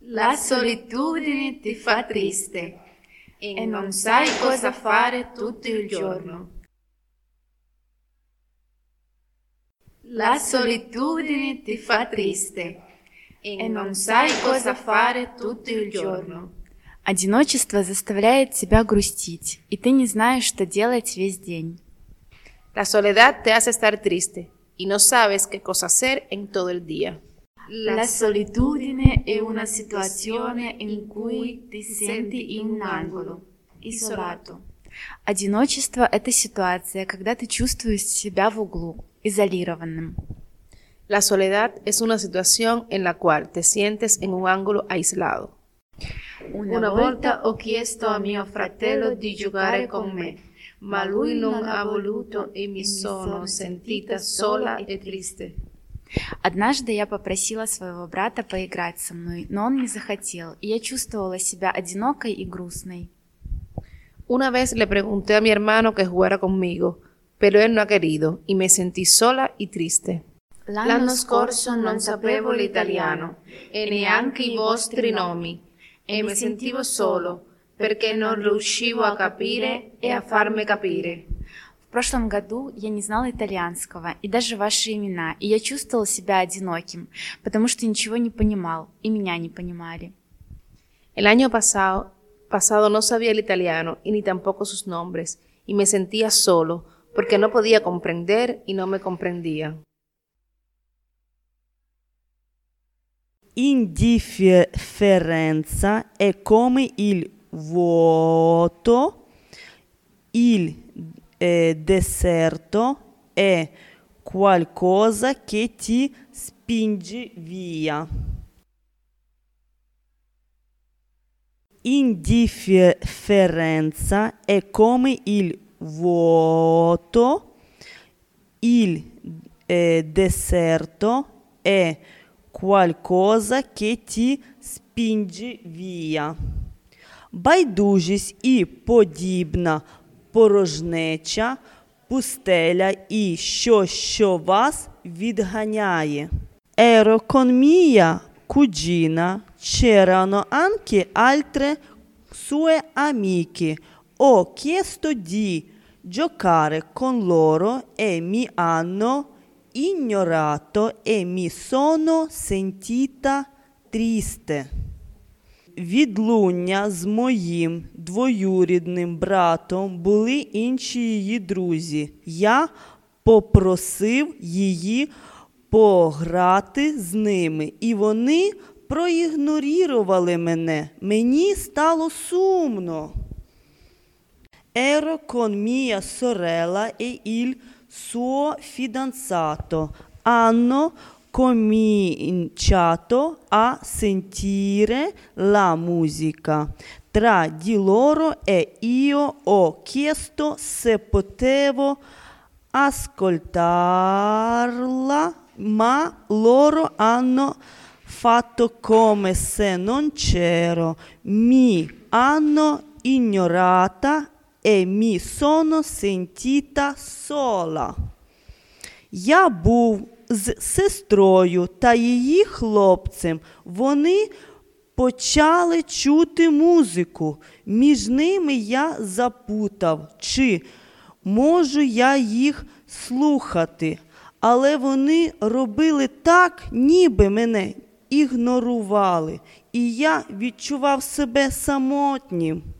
La solitudine ti fa triste e non sai cosa fare tutto il giorno. La solitudine ti fa triste и non sai cosa fare tutto il giorno. Одиночество заставляет тебя грустить, и ты не знаешь, что делать весь день. La soledad te hace estar triste y no sabes qué cosa hacer en todo el día. La solitudine è una situazione in cui ti senti in un angolo, isolato. Одиночество – это ситуация, когда ты чувствуешь себя в углу, изолированным. La soledad es una situación en la cual te sientes en un ángulo aislado. Una volta ho chiesto a mio fratello di giocare con me, ma lui non ha voluto e mi sono sentita sola e triste. Однажды я попросила своего брата поиграть со мной, но он не захотел, и я чувствовала себя одинокой и грустной. Una vez le pregunté a mi hermano que jugara conmigo, pero él no ha querido y me sentí sola y triste. L'anno scorso non sapevo l'italiano e neanche i vostri nomi e mi sentivo solo perché non riuscivo a capire e a farmi capire. В прошлом году я не знала итальянского и даже ваши имена, и я чувствовал себя одиноким, потому что ничего не понимал, и меня не понимали. El año pasado no sabía el italiano y ni tampoco sus nombres, y me sentía solo porque no podía comprender y no me comprendían. Indifferenza è come il vuoto, il deserto è qualcosa che ti spinge via. Indifferenza è come il vuoto, il deserto è qualcosa che ti spinge via. Байдужість і подібна порожнеча, пустеля і що вас відганяє. Con cugina c'erano anche altre sue amiche. Ho chiesto di giocare con loro e mi hanno ignorato e mi sono sentita triste. Відлуння з моїм двоюрідним братом були інші її друзі. Я попросив її пограти з ними, і вони проігнорували мене. Мені стало сумно. Ero con mia sorella e il suo fidanzato. Hanno cominciato a sentire la musica tra di loro e io ho chiesto se potevo ascoltarla, ma loro hanno fatto come se non c'ero, mi hanno ignorata e mi sono sentita sola. Я був з сестрою та її хлопцем. Вони почали чути музику. Між ними я запутав, чи можу я їх слухати. Але вони робили так, ніби мене ігнорували. І я відчував себе самотнім.